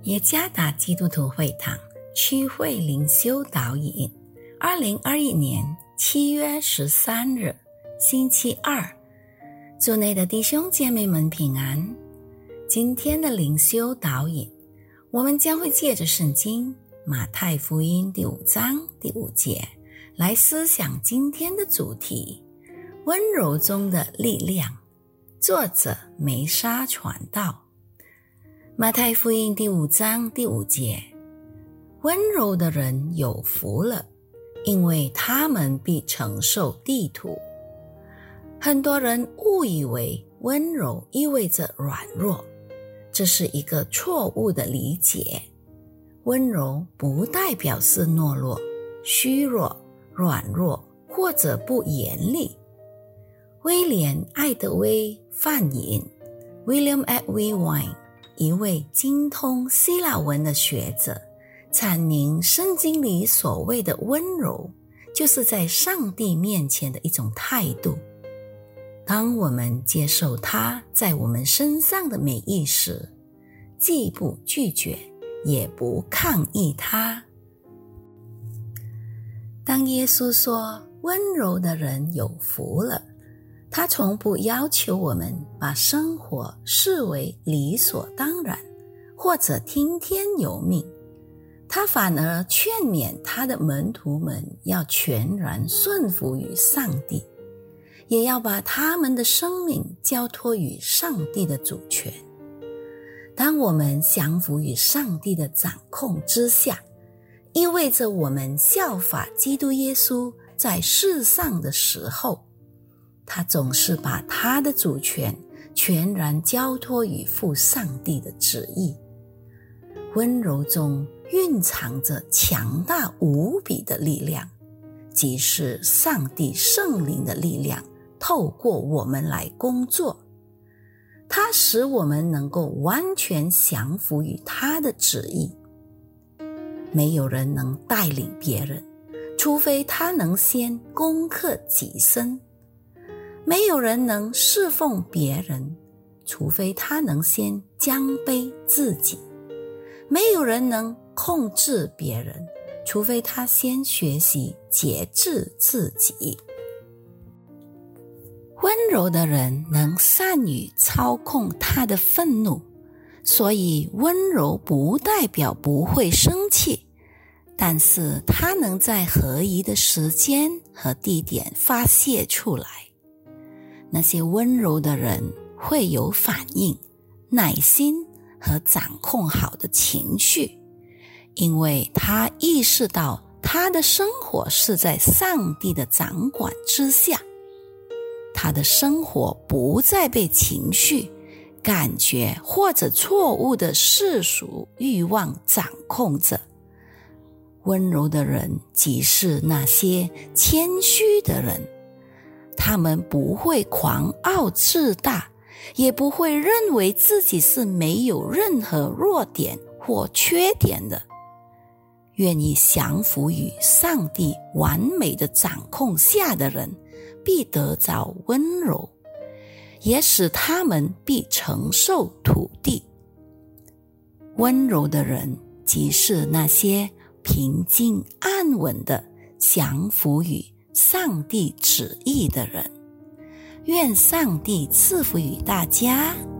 耶加达基督徒会堂区会灵修导引2021年7月13日星期二，主内的弟兄姐妹们平安。今天的灵修导引，我们将会借着圣经马太福音第5章第5节来思想今天的主题，温柔中的力量。作者梅沙传道。马太福音第5章第5节，温柔的人有福了，因为他们必承受地土。很多人误以为温柔意味着软弱，这是一个错误的理解。温柔不代表是懦弱、虚弱、软弱或者不严厉。威廉·艾德威翻译 William Edwin Wine，一位精通希腊文的学者，阐明圣经里所谓的温柔，就是在上帝面前的一种态度。当我们接受他在我们身上的美意时，既不拒绝，也不抗议他。当耶稣说温柔的人有福了，他从不要求我们把生活视为理所当然，或者听天由命。他反而劝勉他的门徒们要全然顺服于上帝，也要把他们的生命交托于上帝的主权。当我们降服于上帝的掌控之下，意味着我们效法基督耶稣在世上的时候，他总是把他的主权全然交托于父上帝的旨意。温柔中蕴藏着强大无比的力量，即是上帝圣灵的力量透过我们来工作。它使我们能够完全降服于他的旨意。没有人能带领别人，除非他能先攻克己身。没有人能侍奉别人，除非他能先降卑自己。没有人能控制别人，除非他先学习节制自己。温柔的人能善于操控他的愤怒，所以温柔不代表不会生气，但是他能在合宜的时间和地点发泄出来。那些温柔的人会有反应、耐心和掌控好的情绪，因为他意识到他的生活是在上帝的掌管之下，他的生活不再被情绪、感觉或者错误的世俗欲望掌控着。温柔的人即是那些谦虚的人，他们不会狂傲自大，也不会认为自己是没有任何弱点或缺点的。愿意降服于上帝完美的掌控下的人，必得着温柔，也使他们必承受土地。温柔的人即是那些平静安稳的降服于上帝旨意的人。愿上帝赐福于大家。